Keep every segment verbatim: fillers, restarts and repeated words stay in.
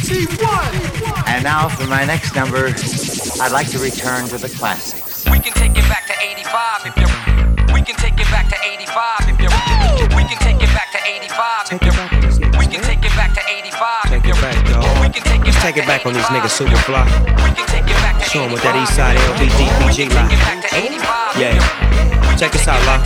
And now for my next number, I'd like to return to the classics. We can take it back to eighty-five if you're. We can take it back to eighty-five if you're. We can take it back to eighty-five if you're. We can take it back to eighty-five if you're. Take it back, dog. We can take it Let's back take it to back on these eighty-five. niggas super fly. We can take it back to Show 'em what that eighty-five. East Side L B D B G We can like. take it back to eighty-five if Yeah. you're. Check us out, La.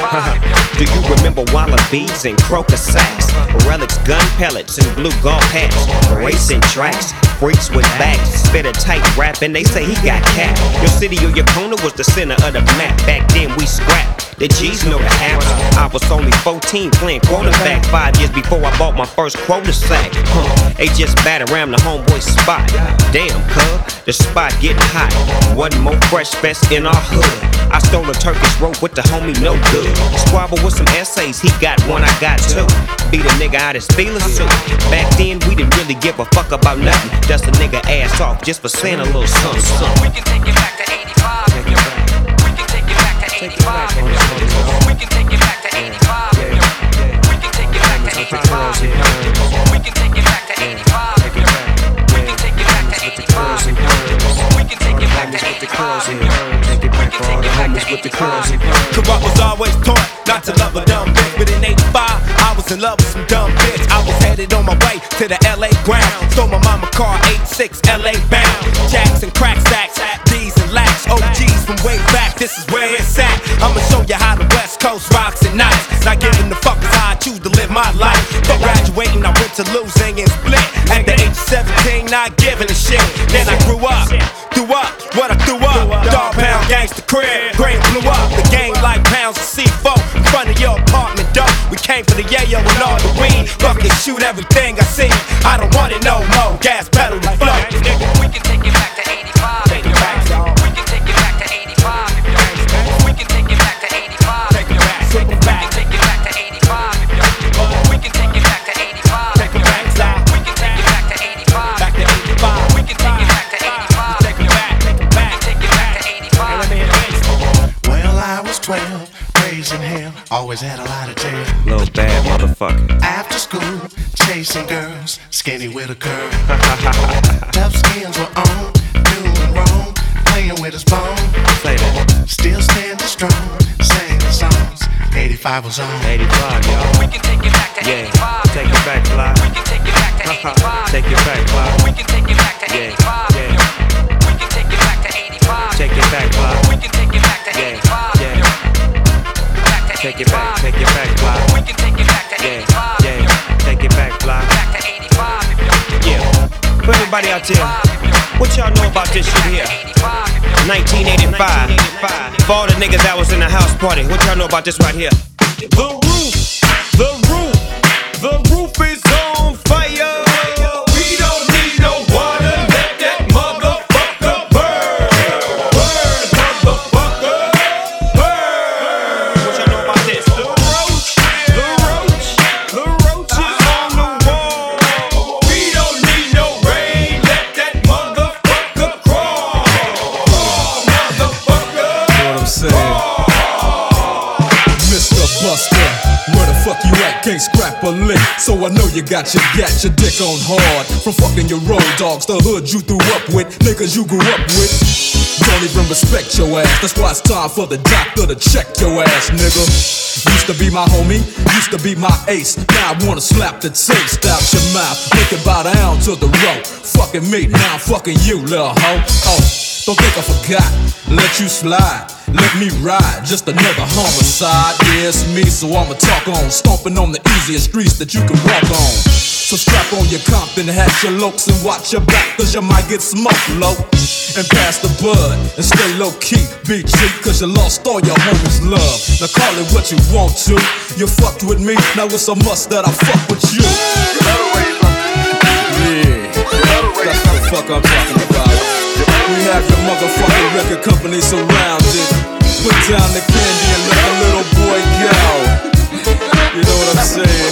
Do you remember wallabies and crocus sacks? Relics, gun pellets, and blue golf hats. Racing tracks, freaks with bags. Spit a tight rap and they say he got cat. Your city or your corner was the center of the map. Back then we scrapped. The G's know the haps. I was only fourteen playing quarterback. Five years before I bought my first quota sack. Huh. They just bat around the homeboy spot. Damn, cuz, the spot getting hot. One more fresh fest in our hood. I stole a Turkish rope with the homie, no good. Squabble with some essays, he got one, I got two. Beat a nigga out his feelings too. Back then, we didn't really give a fuck about nothing. Dust a nigga ass off just for saying a little something, something. We can take it back to eighty-five if you're. We can take it back to eighty-five if you're. We can take it back to eighty-five if you're. We can take it back to eighty-five if you're. We can take it back to eighty-five if you're. We can take it back to eighty-five if you're. We can take it back to eighty-five if you're. Take it back for all the homies with the curls. Cause I was always taught not to love a dumb bitch. But in eighty-five, I was in love with some dumb bitch. I was headed on my way to the L A ground. Stole my mama car, eighty-six L A bound. Jacks and crack stacks, D's and lax. O Gs from way back, this is where it's at. I'ma show you how the West Coast rocks at night. Not giving the fuck is how I choose to live my life. For graduating, I went to losing and split. At the age of seventeen, not giving a shit. Then I grew up, threw up, what I threw up. Dog pound, gangsta crib, brain blew up. The game like pounds of C four in front of your apartment door. We came for the yayo and all the weed. Fucking shoot everything I see. I don't want it no more. Gas pedal to flow. We can take it back to eighty-five if you're. We can take it back to eighty-five if you're. We can take it back to eighty-five if you're. We can take it back to eighty-five if you're. We can take it back to eighty-five if you're. We can take it back to eighty-five. Back to eighty-five. We can take it back to eighty-five. Take it back, take it back. We can take it back to eighty-five. Well, I was twelve, raising hell, always had a lot of tail. Little bad motherfucker. After school, chasing girls, skinny with a curve. Tough skins were on, doing wrong, playing with his bone. Play that. Still standing strong, singing songs. eighty-five was on. eighty-five, y'all. We can take it back to Yeah, eighty-five. take it back, fly. We can take it back to eighty-five. Take it back, fly. We can take it back to Yeah, eighty-five. yeah. We can take it back to eighty-five. Take it back, fly. We can take it back to Yeah, eighty-five. yeah. Back to Take it back, eighty-five. take it back, fly. We can take it back to Yeah, eighty-five. yeah. Take it back, fly. Back to eighty-five. Yeah. For everybody out there, what y'all know about this shit here? nineteen eighty-five. For all the niggas that was in the house party, what y'all know about this right here? The roof, the roof, the roof is on fire. We don't need no water, let that motherfucker burn. Burn, motherfucker, burn. What y'all know about this? The roach, the roach, the roach is on the wall. We don't need no rain, let that motherfucker crawl. Crawl, motherfucker. You know what I'm saying? Mister Buster, where the fuck you at? Can't scrap a lick, so I know you got your got your dick on hard. From fucking your road dogs, the hood you threw up with, niggas you grew up with. Don't even respect your ass. That's why it's time for the doctor to check your ass, nigga. Used to be my homie, used to be my ace. Now I wanna slap the taste out your mouth. Make it bow down to the rope. Fucking me, now I'm fucking you, little hoe. Oh, don't think I forgot. Let you slide. Let me ride, just another homicide. Yeah, it's me, so I'ma talk on. Stomping on the easiest streets that you can walk on. So strap on your Compton hat, your lokes, and watch your back, cause you might get smoked low. And pass the bud, and stay low key. Be cheap, cause you lost all your homies' love. Now call it what you want to. You fucked with me, now it's a must that I fuck with you. Yeah, that's what the fuck I'm talking about. We have your motherfucking record company surrounded. Put down the candy and let the little boy go. You know what I'm saying?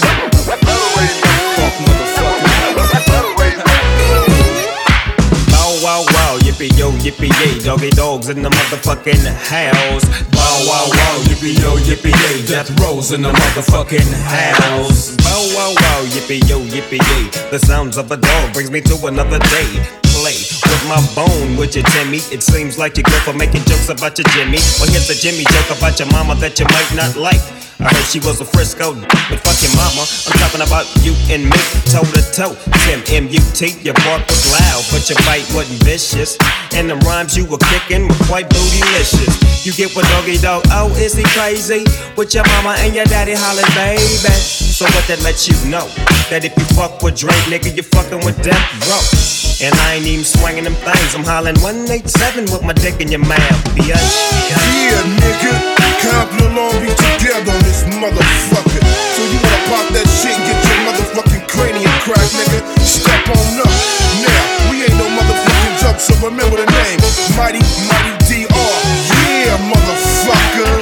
Fuck motherfucker. Wow, wow, wow, yippee yippee yo, yippee yay, doggy dogs in the motherfucking house. Bow wow wow, yippee yo, yippee yay, death rolls in the motherfucking house. Bow wow wow, yippee yo, yippee yay. The sounds of a dog brings me to another day. Play with my bone, would you, Timmy? It seems like you're good for making jokes about your Jimmy. Well, here's a Jimmy joke about your mama that you might not like. I heard she was a Frisco, but fuck your mama. I'm talking about you and me, toe to toe. Tim M U T, your bark was loud, but your bite wasn't vicious. And the rhymes you were kicking were quite bootylicious. You get what doggy dog, oh, is he crazy? With your mama and your daddy hollering, baby. So what that lets you know? That if you fuck with Drake, nigga, you fucking with Death Row. And I ain't even swinging them things, I'm hollering one eighty-seven with my dick in your mouth, bitch. Yeah, nigga, Compton Long Beach together on this motherfucker. So you wanna pop that shit and get your motherfucking cranium cracked, nigga? Step on up. Now, we ain't no motherfucking joke, so remember the name. Mighty, Mighty D R. Yeah, motherfucker.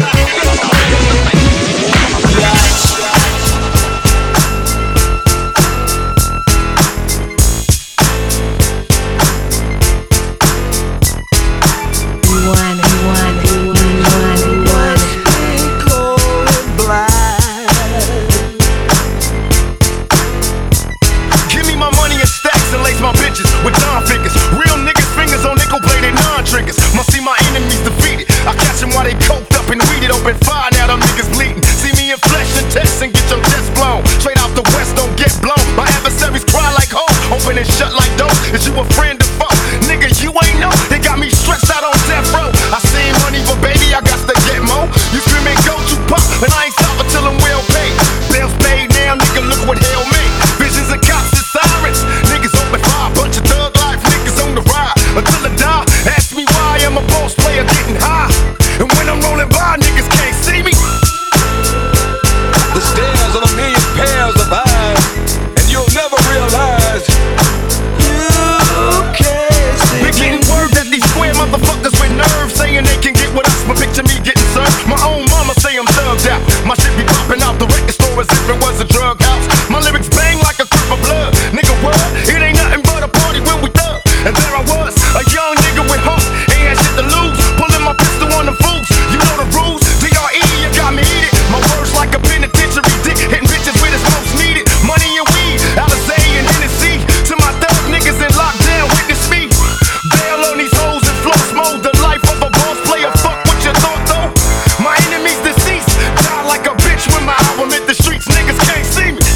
With Don figures, real niggas fingers on nickel plated non-triggers. Must see my enemies defeated. I catch them while they coked up and weeded. Open fire, now them niggas bleeding. See me in flesh and test and get your chest blown. Straight out the west, don't get blown. My adversaries cry like hoes, open and shut like doors. Is you a friend or foe? Nigga, you ain't know. They got me stretched out on death row. I seen money, but baby, I got to get more. You screaming go to pop, and I ain't stopping till I'm well paid. Bills paid now, nigga, look what hell made. Visions of cops and sirens. Niggas open fire, bunch of thug life niggas on the ride until I die. Ask me why I'm a boss player getting high, and when I'm rolling by, niggas can't see me. The stairs of a million pairs of eyes, and you'll never realize you can't see me. Been getting word that these square motherfuckers with nerves saying they can get with us, but picture me getting served. My own mama say I'm thugged out. My shit be popping out the record store as if it was a drug house. My lyrics bang like a crip of blood. Nigga, what? It ain't nothing but a party when we thug. And there I was, a young nigga with hope, ain't had shit to lose. Pulling my pistol on the fools, you know the rules. D R E, you got me heated. My words like a penitentiary dick, hitting bitches where it's most needed. Money and weed, Alizé and Hennessy. To my thug niggas in lockdown, witness me. Bail on these hoes and floss mode. The life of a boss player, fuck what you thought though. My enemies deceased, die like a bitch when my album hit the streets. Niggas can't see me.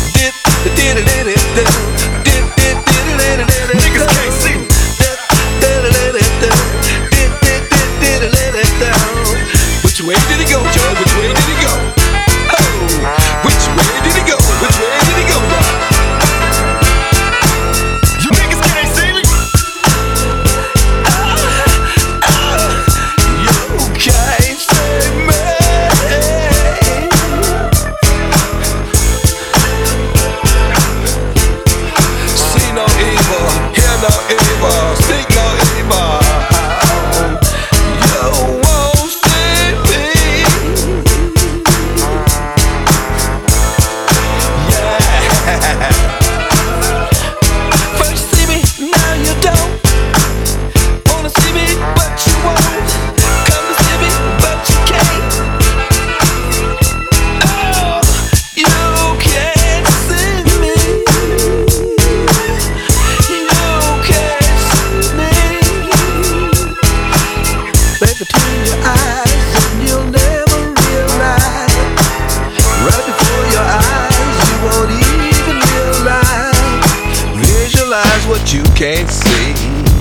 Niggas can't see me. Which way did he go, Joe? Which way did he go? Oh, which way did he go? Which way did he go? You niggas can't see me. You can't see me. See no evil, hear no evil, speak no evil. You won't see me. Yeah. First see me, now you don't. Wanna see me, but you won't. Come to see me, but you can't. Oh, you can't see me. You can't see me. Right between your eyes, and you'll never realize. Right before your eyes, you won't even realize. Visualize what you can't see.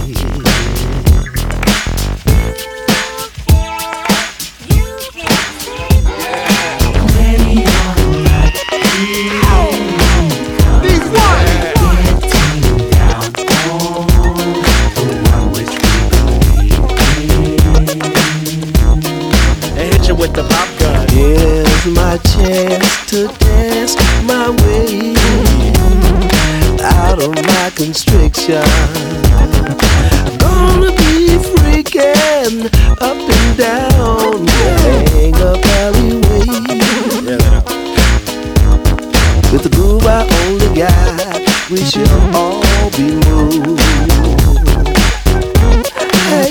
With the pop gun. Here's my chance to dance my way out of my constriction. Gonna be freaking up and down the hang up alleyway. With the groove I only got, we shall all be moved. Hey,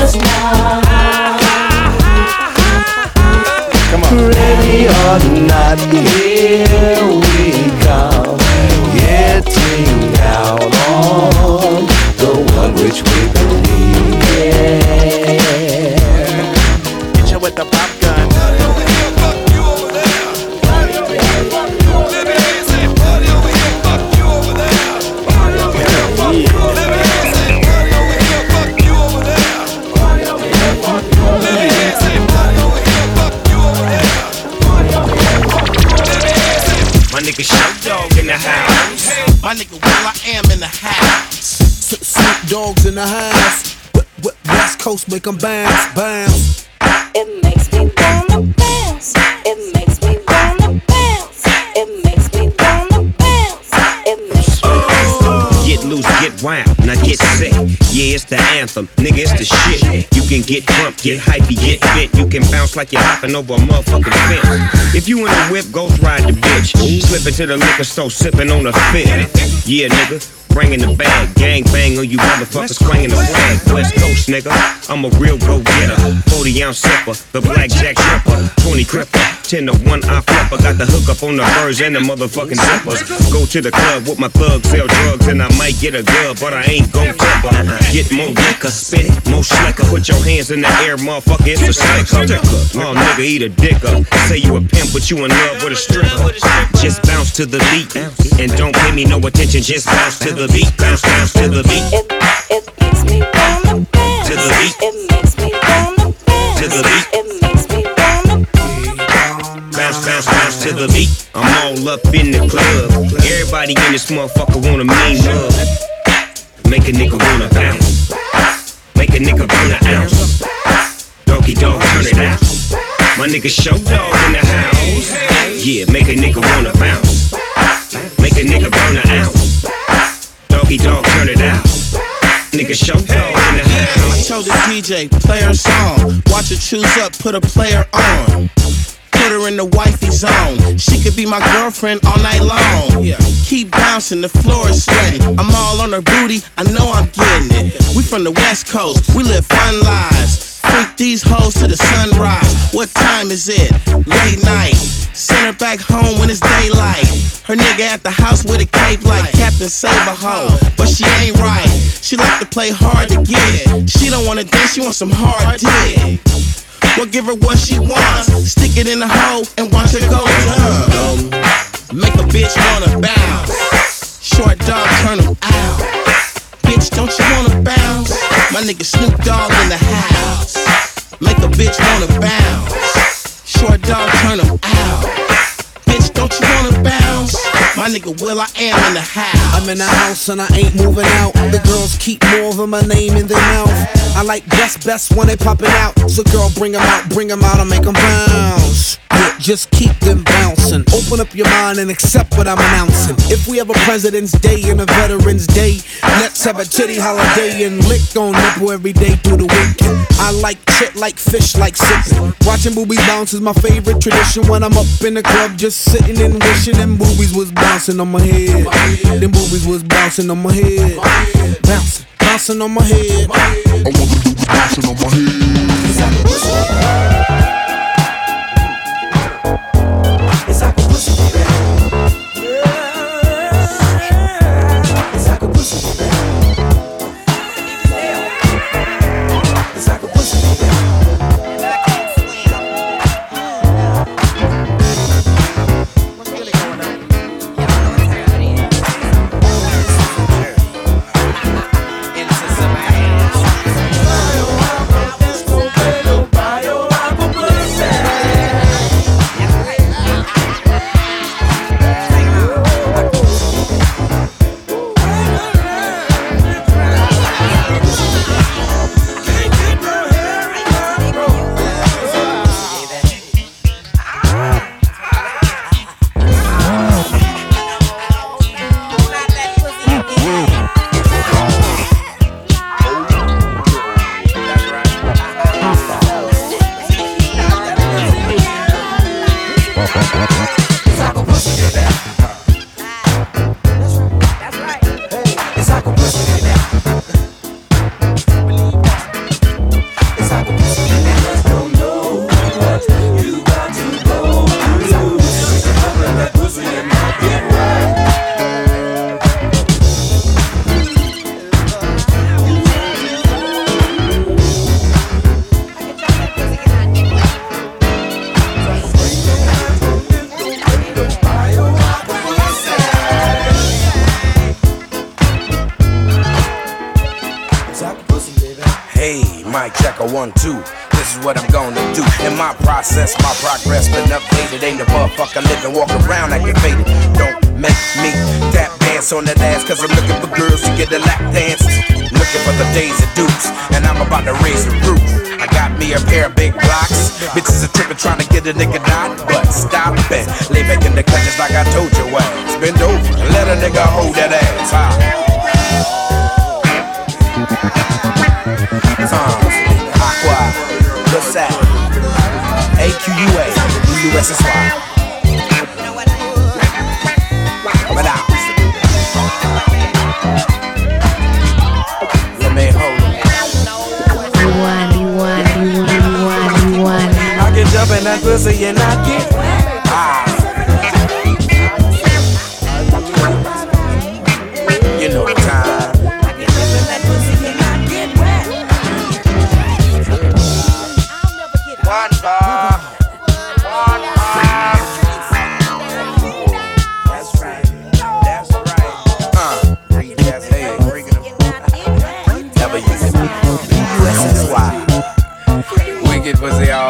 us now. Come on. Ready or not, here we come, getting out on the one which we believe. Yeah. Hit you with the pop gun. Party over here, fuck you over there. Party over here, fuck you over there. Let me hear you say, party over here, fuck you over there. Party over here, fuck you over there. Let me hear you say, party over here, fuck you over there. Party over here, fuck you over there. Let me hear you say, party over here, fuck you over there. Party over here, fuck you over there. Let me hear you say, my nigga Shout Dog in the house. My nigga Will I Am in the house. Snoop Dogg's in the house. West Coast make 'em bounce, bounce. It makes me wanna bounce. It makes me wanna bounce. It makes me wanna bounce. It makes me wanna Get loose, get wild, now get sick. Yeah, it's the anthem, nigga, it's the shit. You can get drunk, get hypey, get fit. You can bounce like you're hopping over a motherfucking fence. If you in a whip, go ride the bitch. Slip into the liquor store, sipping on a fit. Yeah, nigga. Bringing the bag, gang bang on you motherfuckers, swinging the flag. West Coast, nigga, I'm a real go-getter. forty ounce sipper, the blackjack tripper, twenty cripper, ten to one eye flipper. Got the hook up on the birds and the motherfucking zippers. Go to the club with my thugs, sell drugs, and I might get a gub, but I ain't gon' tip her. Get more liquor, spit it, more slicker. Put your hands in the air, motherfucker, it's a sticker. Oh, nigga, eat a dick up. Say you a pimp, but you in love with a stripper. Just bounce to the beat, and don't pay me no attention, just bounce to the beat, bounce, bounce to the beat. It, it makes me wanna bounce. To the beat. It makes me wanna bounce. To the beat. It makes me wanna bounce, bounce, bounce to the beat. I'm all up in the club. Everybody in this motherfucker wanna mean love. Make a nigga wanna bounce. Make a nigga burn an ounce. Doggy dog, turn it out. My nigga Show Dog in the house. Yeah, make a nigga wanna bounce. Make a nigga burn an ounce. Doggy dog, turn it out. Nigga Show Dog in the house. I told the D J, play her song. Watch her choose up, put a player on. Put her in the wifey zone. She could be my girlfriend all night long. Keep bouncing, the floor is sweaty. I'm all on her booty, I know I'm getting it. We from the West Coast, we live fun lives. Freak these hoes to the sunrise. What time is it? Late night. Send her back home when it's daylight. Her nigga at the house with a cape like Captain Saberho. But she ain't right. She like to play hard to get. She don't wanna dance, she wants some hard dick. Well, give her what she wants. Stick it in the hole and watch her go down. Make a bitch wanna bounce. Short dog, turn them out. Bitch, don't you wanna bounce? My nigga Snoop Dogg in the house. Make a bitch wanna bounce. Short dog, turn them out. Bitch, don't you wanna bounce? My nigga Will I Am in the house. I'm in the house and I ain't moving out. The girls keep more of my name in their mouth. I like best, best when they popping out. So girl, bring them out, bring them out and make them bounce. Yeah, just keep them bouncing. Open up your mind and accept what I'm announcing. If we have a President's Day and a Veterans Day, let's have a titty holiday and lick on nipple every day through the weekend. I like shit like fish, like sipping. Watching boobies bounce is my favorite tradition. When I'm up in the club just sitting and wishing them boobies was bouncing on my head. Them boobies was bouncing on my head. Bouncing, bouncing on my head. I want the boobies bouncing on my head. one, two. This is what I'm gonna do. In my process, my progress been updated. Ain't a motherfucker living, walk around activated. Don't make me tap dance on that ass, cause I'm looking for girls to get a lap dance. Looking for the days of dukes, and I'm about to raise the roof. I got me a pair of big blocks. Bitches are tripping trying to get a nigga down, but stop it. Lay back in the cut just like I told you ass. Bend over and let a nigga hold that ass. Huh? Uh, Aqua, what's that? A Q U A, U S S Y. But now, let me hold it. You want, you want, you want, you want, you want. I can jump in that pussy and I get ah. You know the time. One bar, one bar. That's right, that's right. Uh, read that, hey, bring it up. Never use it. U S S Y. Wicked pussy all